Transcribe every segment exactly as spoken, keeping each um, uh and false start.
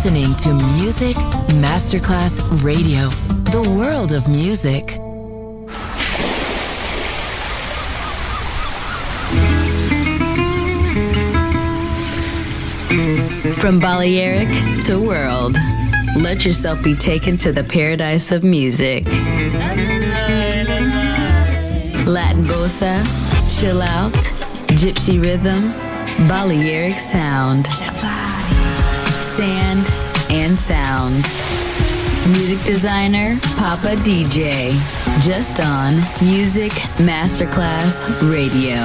listening to Music Masterclass Radio, the world of music. From Balearic to world, let yourself be taken to the paradise of music. Latin bossa, chill out, gypsy rhythm, Balearic sound, sand and sound. Music designer, Papa D J, just on Music Masterclass Radio.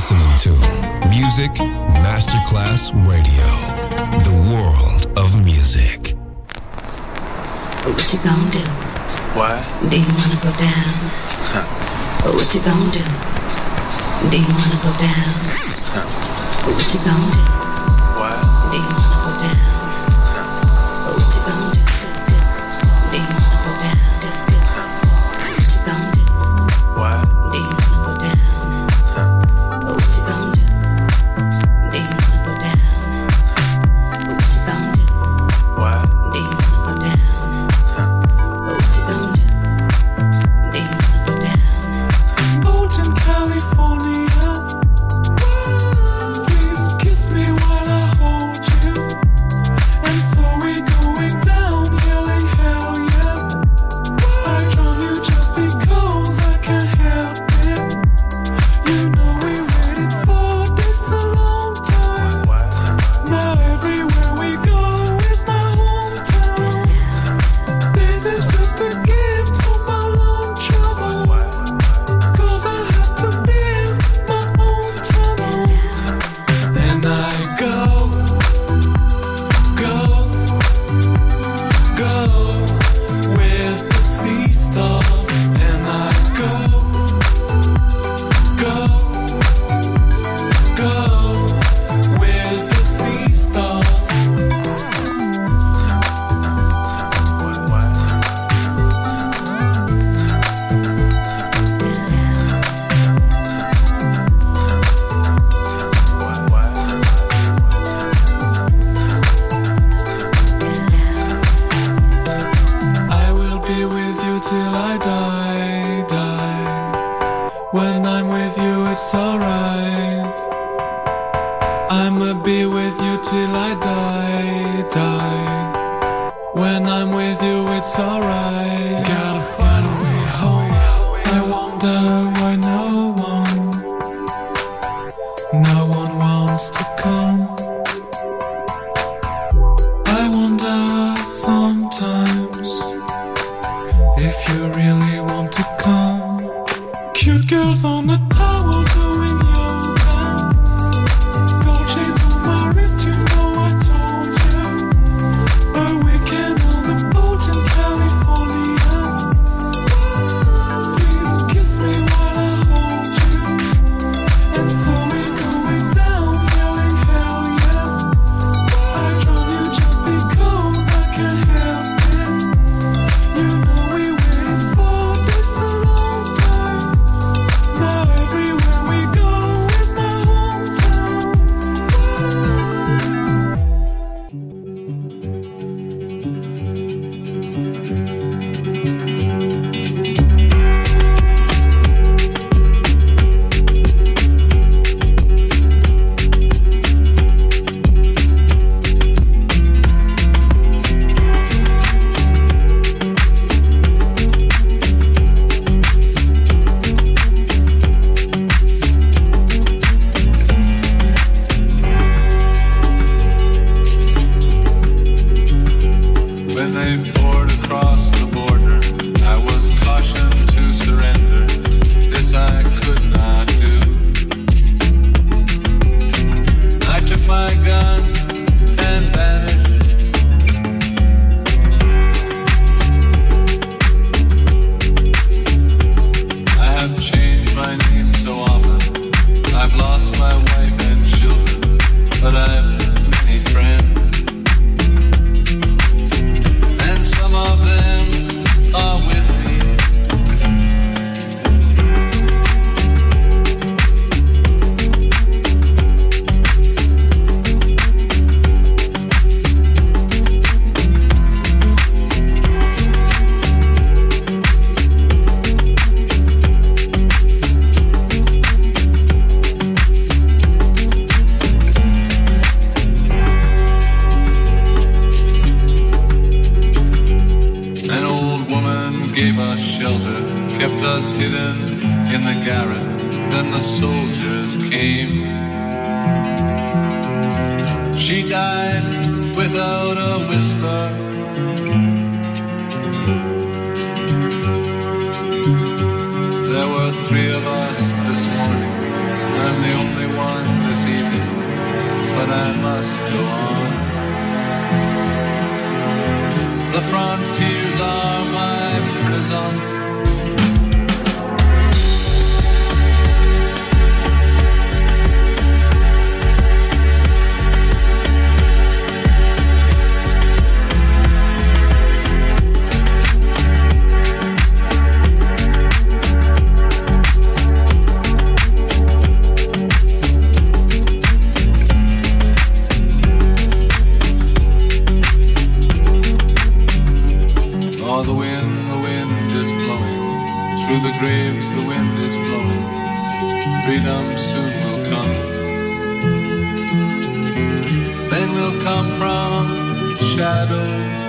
listening to Music Masterclass Radio, the world of music. What you gonna do? What? Do you wanna go down? Huh. What you gonna do? Do you wanna go down? Huh. What you gonna do? What? Do you wanna go down? Huh. What you gonna do? Do you wanna go down? Huh. What you gonna do? What? Do you wanna go down? Huh. What you gonna do? Do you wanna go down? What you gonna do? What? Do you wanna go down? Huh. What you gonna do? Do you wanna go down? Boat in California, please kiss me while I hold you. And so we're going down, yelling hell yeah. I drown you just because I can't help it. You know we waited for this a long time. What? Now everywhere we go is my hometown. This is just a gift for my long travel. What? Cause I have to build my own tunnel. And I go, go, go with the sea stars. And I go, go, go with the sea stars. What? What? What? What? I will be with you till I die, die. When I'm with you, it's alright. I'ma be with you till I die, die. When I'm with you, it's alright. Gotta find a way home. I wonder why no one, no one wants to come. I wonder sometimes if you really want to come. Cute girls on the towel doing yoga. Gold chains on my wrist, you know I told you. A weekend on the boat in California. Please kiss me while I hold you. And so we're going down, yelling hell yeah. I drown you just because I can't help it. You know we waited for this a long time. Now everywhere we go is my hometown. When they poured across the border, I was cautioned to surrender. This I could not do. I took my gun and vanished. I have changed my name so often. I've lost my wife and children, but I've many friends. And some of them are with me. An old woman gave us shelter, kept us hidden in the garret. Then the soldiers came. She died without a whisper. There were three of us this morning. I'm the only Through the graves the wind is blowing. Freedom soon will come. Then will come from shadow.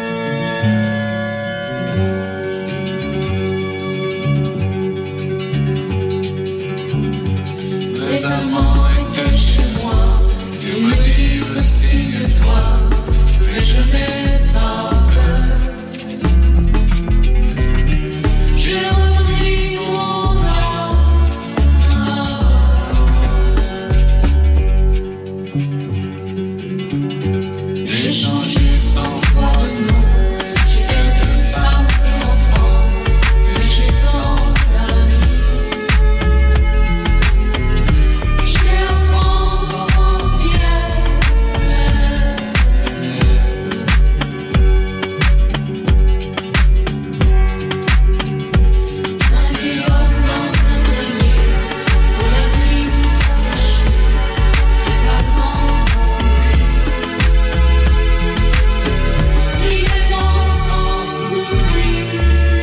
Les amants étaient chez moi. Tu me dis le signe-toi. Mais je n'ai pas peur. J'ai repris mon âme. J'ai changé cent fois de nom. J'ai perdu femme et enfant. Mais j'ai tant d'amis. J'ai la France entière. Ma vie homme dans un grenier. Pour la nuit nous attacher. Les amants il est mort sans surprise.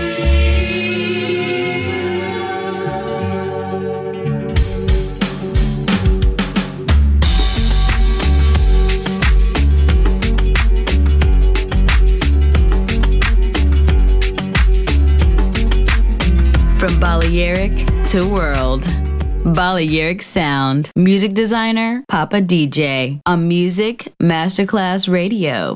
From Balearic to world. Balearic Sound. Music designer, Papa D J. On Music Masterclass Radio.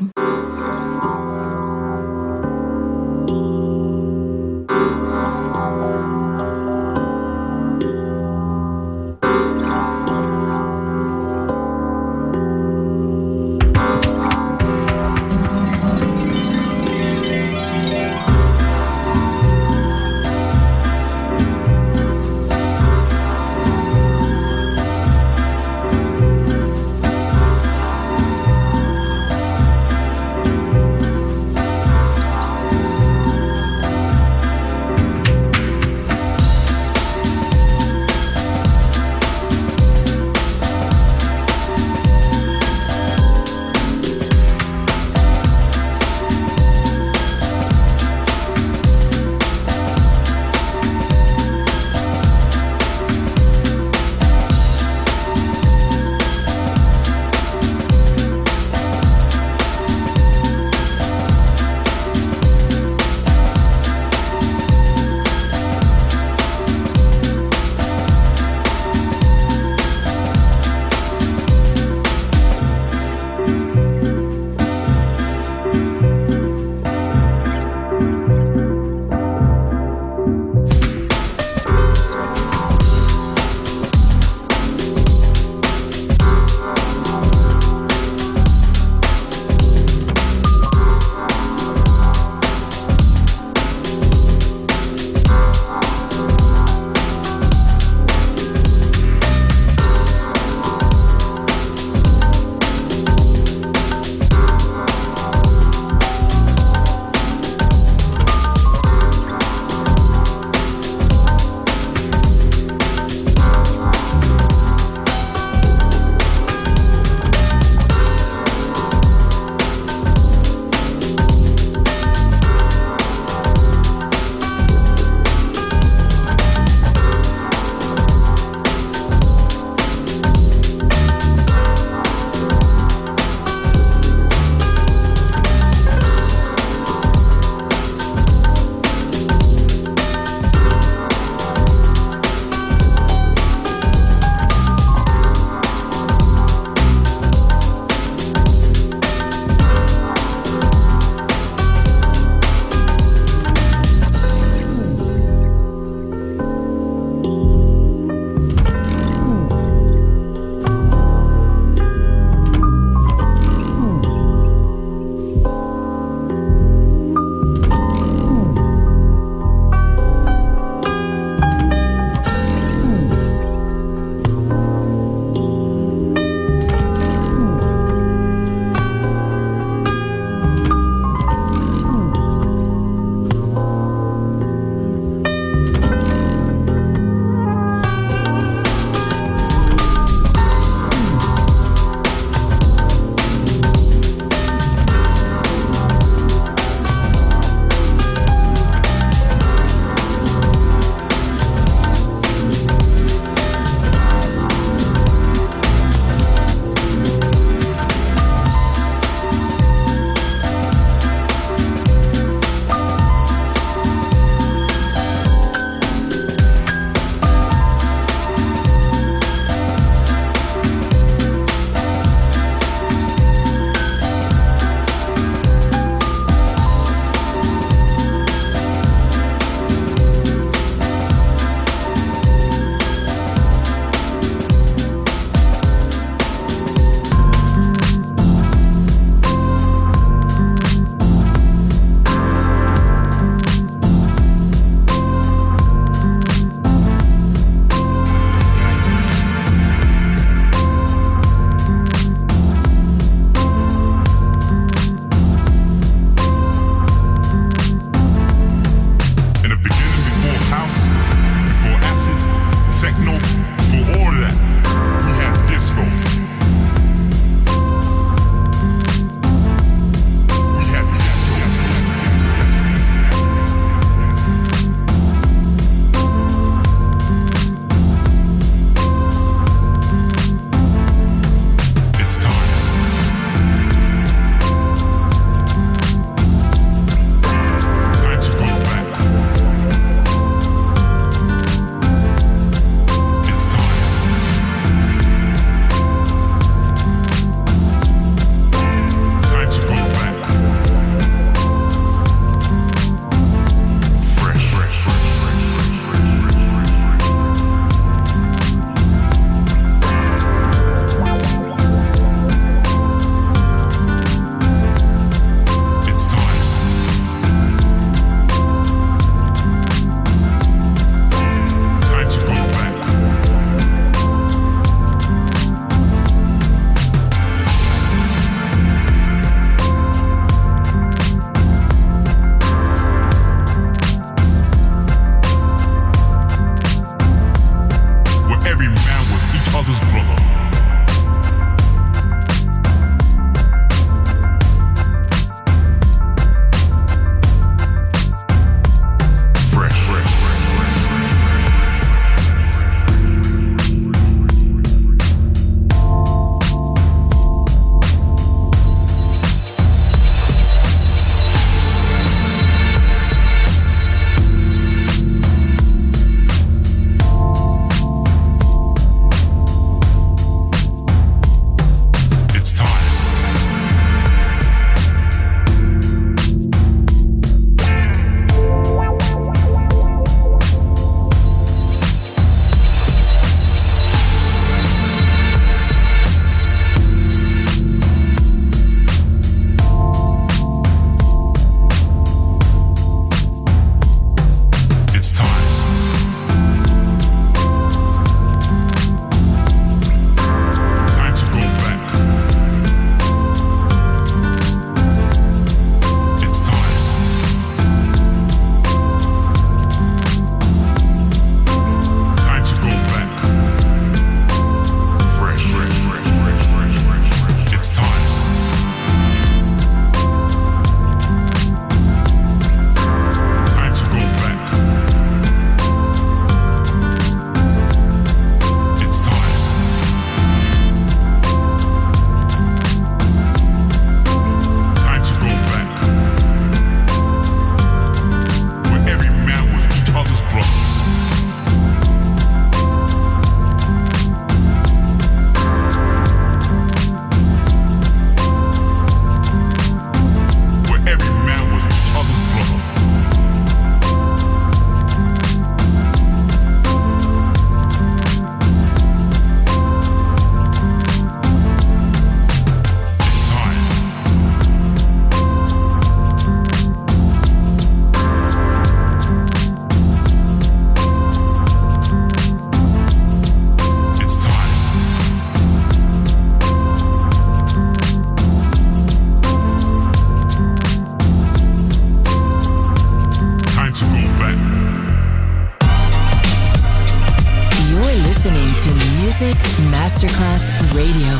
Music Masterclass Radio.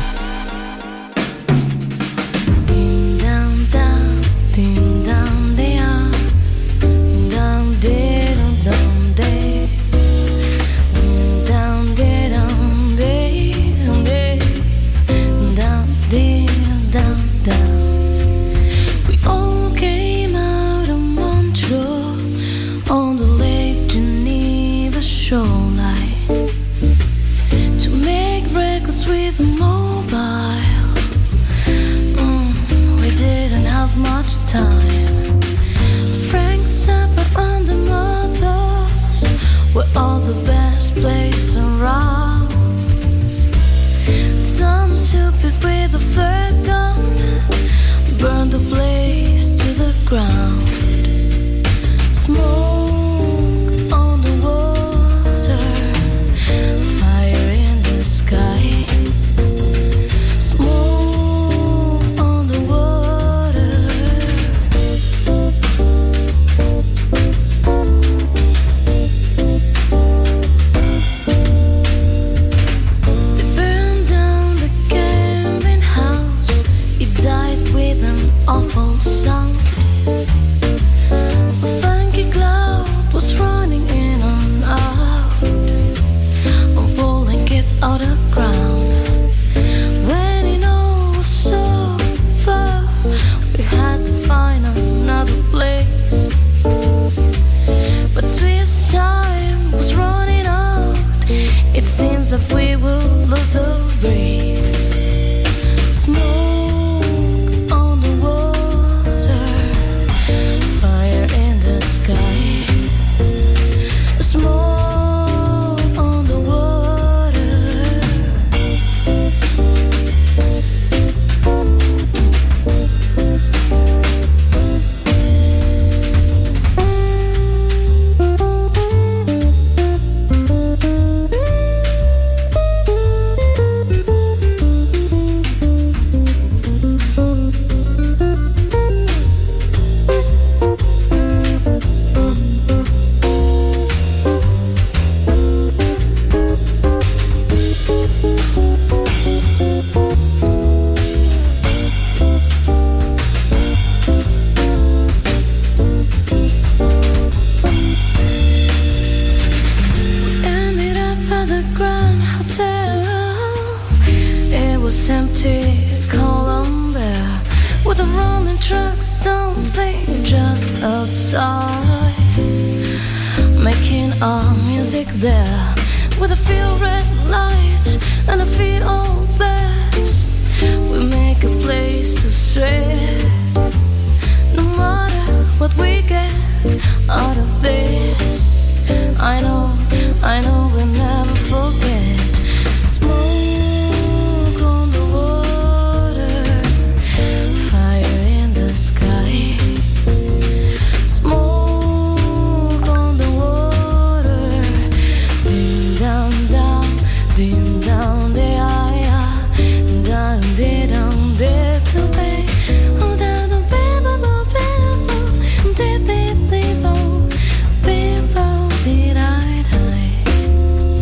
Ding dong dong, ding dong dong, ding dong dong dong day, ding dong dong day, day, dong ding dong dong. We all came out of Montreal on the Lake Geneva shoreline to make records with a mobile. Mm, we didn't have much time. Frank Zappa and the Mothers were all the best players around. Some stupid with a flare gun burned the place to the ground. Smoke on the water, fire in the sky. Smoke on the water. They burned down the camping house. It died with an awful sound. A funky cloud was running in and out, and pulling kids out of ground. When it all was so far, we had to find another place. But Swiss time was running out. It seems that we will lose the race. Smoke on the water, fire in the sky. Smoke on the water. Ended up at the Grand Hotel. It was empty, cold and bare, with the rolling trucks, something just outside, making our music there, with a few red lights and a few old beds. We make a place to stray, no matter what we get out of this. I know, I know we'll never forget. Smoke on the water, fire in the sky. Smoke on the water, ding dong dong, ding dong de ah, dong de dong de to pay. Oh, da da ba ba ba ba, de de de bo, be bo de da da.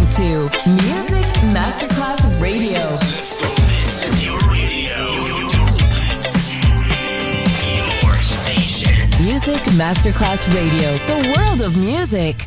listening to Music Masterclass Radio. Let's go. This is your radio. Your station. Music Masterclass Radio. The world of music.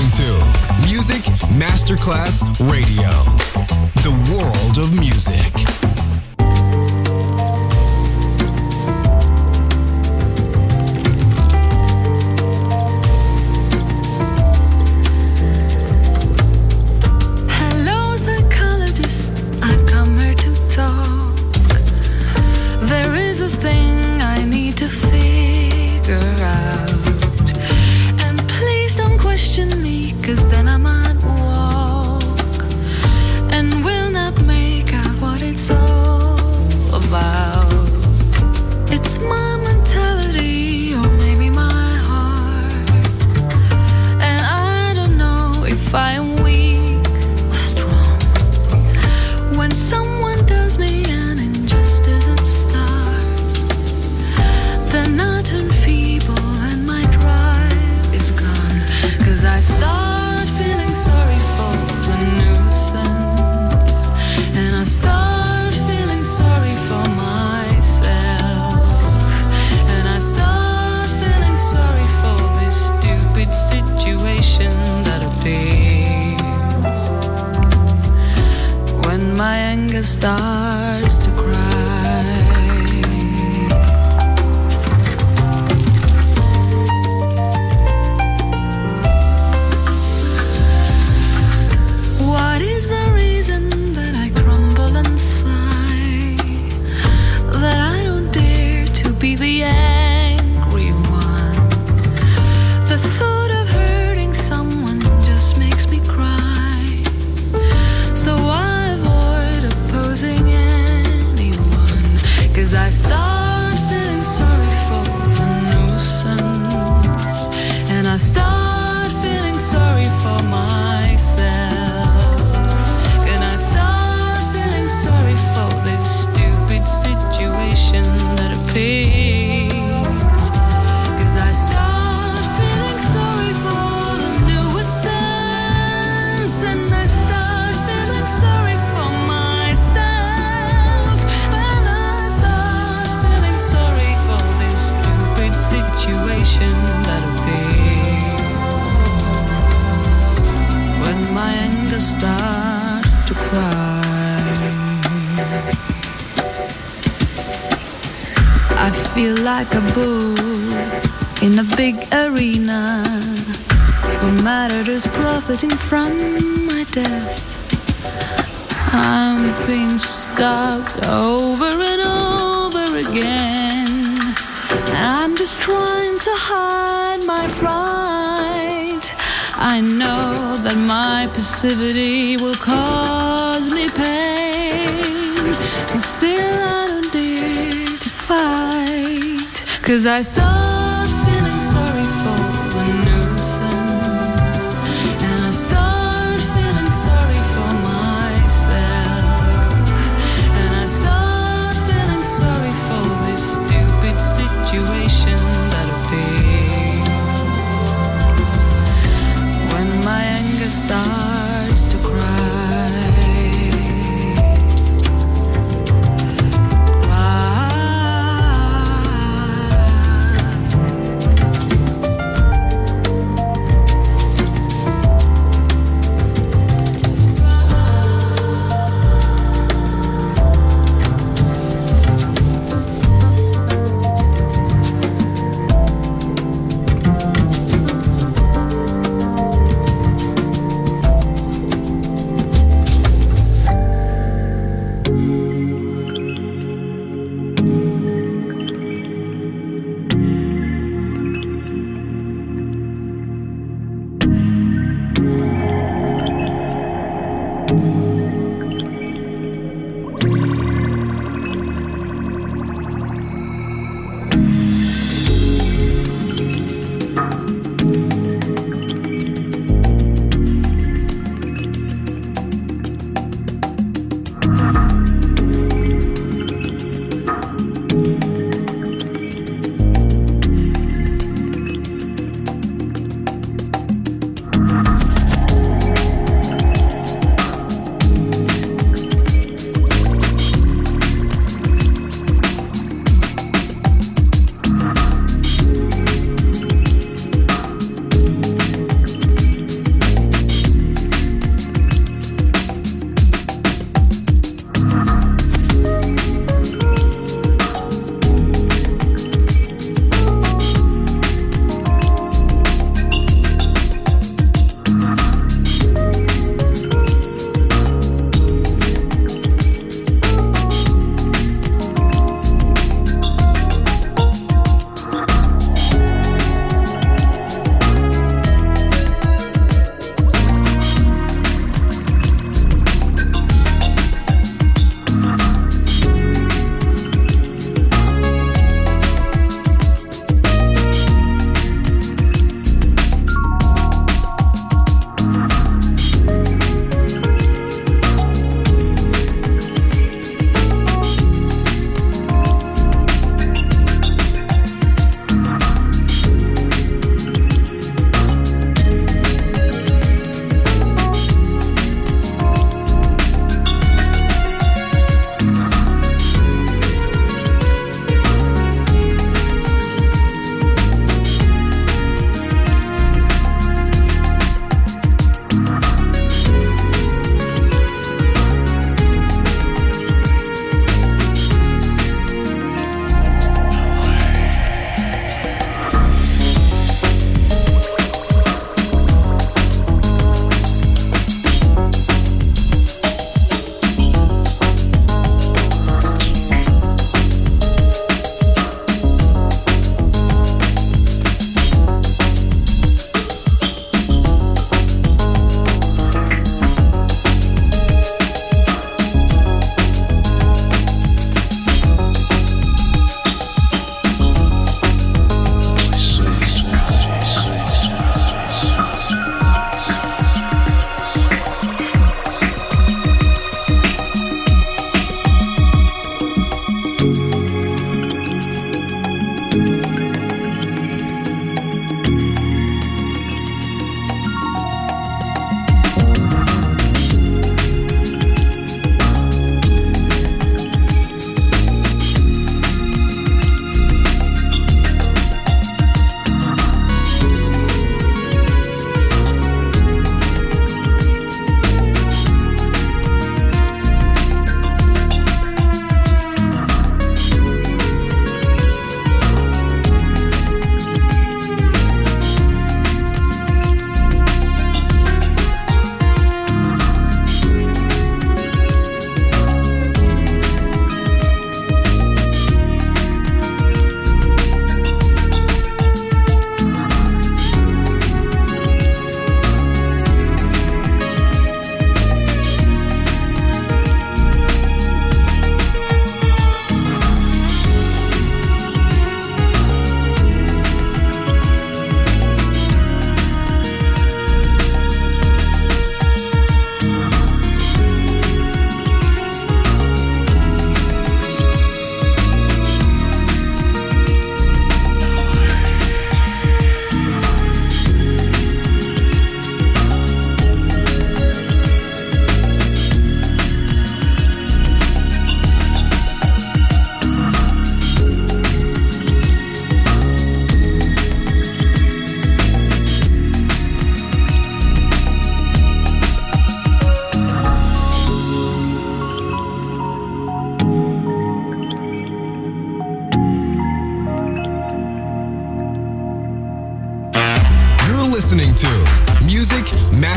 listening to Music Masterclass Radio, the world of music. Starts to cry. What is the reason that I crumble and sigh? That I don't dare to be the angry one. The thought of hurting someone just makes me cry. So I anyone, 'cause I start feeling sorry for the nuisance, and I start feeling sorry for myself, and I start feeling sorry for this stupid situation that appears, 'cause I start feeling sorry for the nuisance, and I start feeling sorry for myself. Situation that appears when my anger starts to cry. I feel like a bull in a big arena, who matter is profiting from my death. I'm being stabbed over and over again. I'm just trying to hide my fright. I know that my passivity will cause me pain, and still I don't dare to fight, 'cause I start feeling sorry for the nuisance, and I start feeling sorry for myself, and I start feeling sorry for this stupid situation that appears when my anger starts to cry. Cry.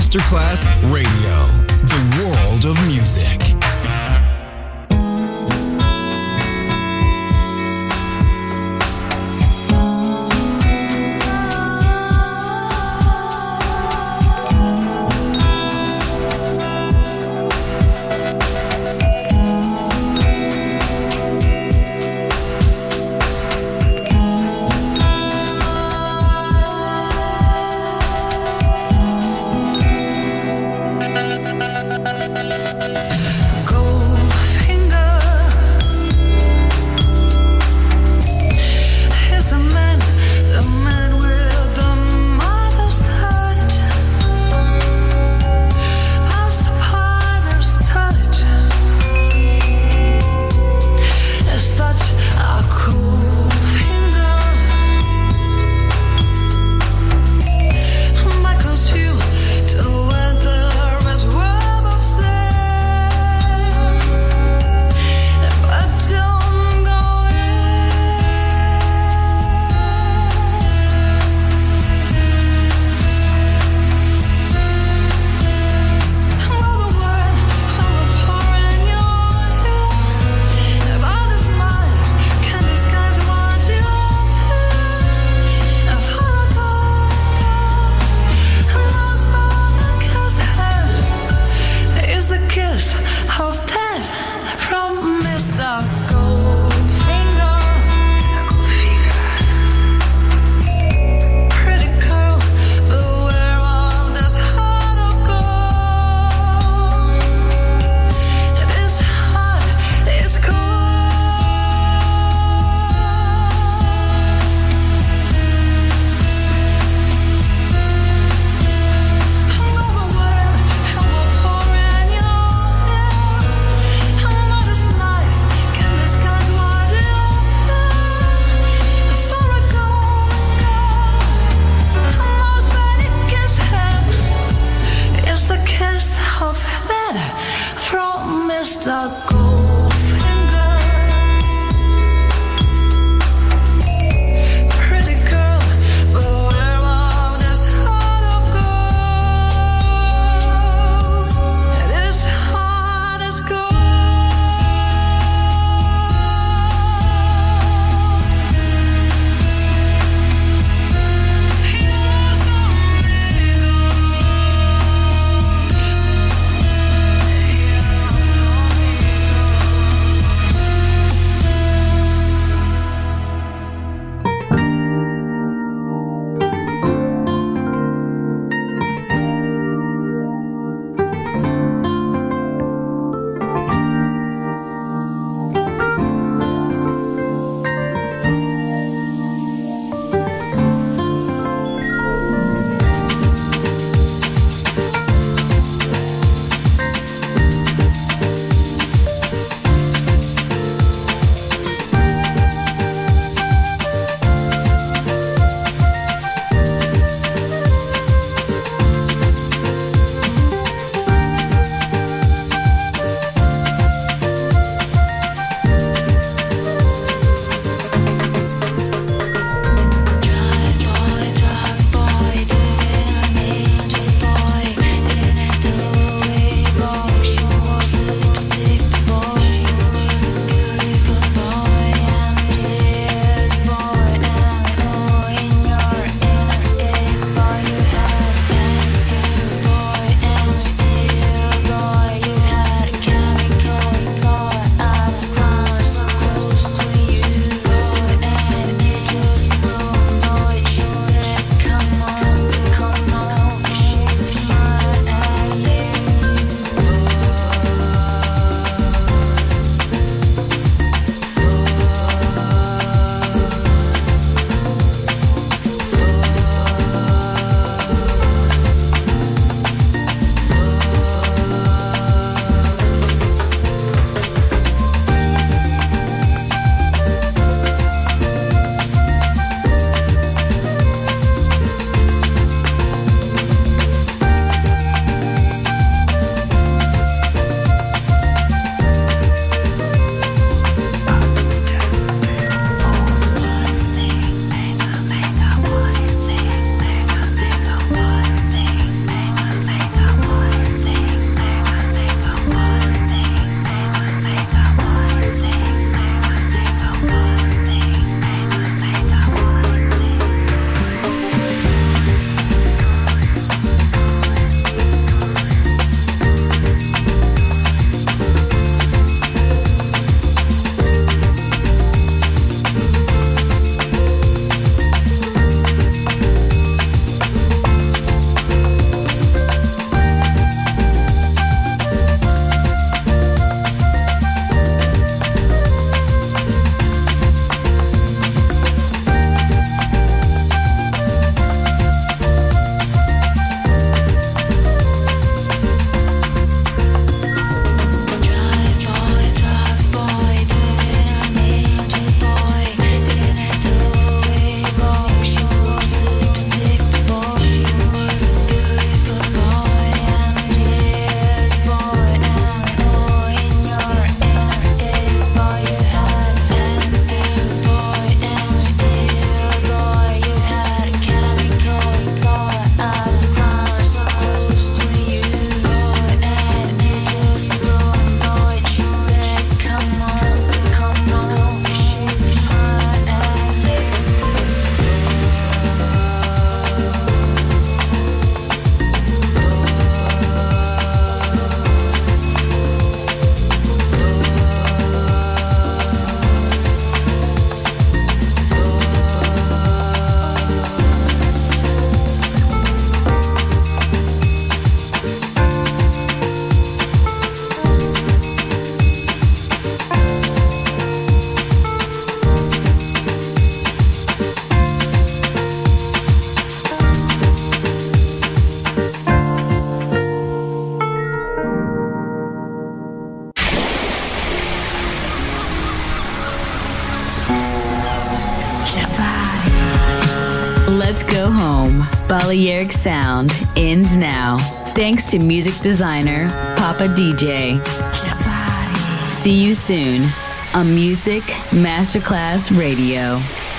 Masterclass Radio, the world of music. Here Let's go home. Balearic Sound ends now. Thanks to music designer Papa D J. See you soon on Music Masterclass Radio.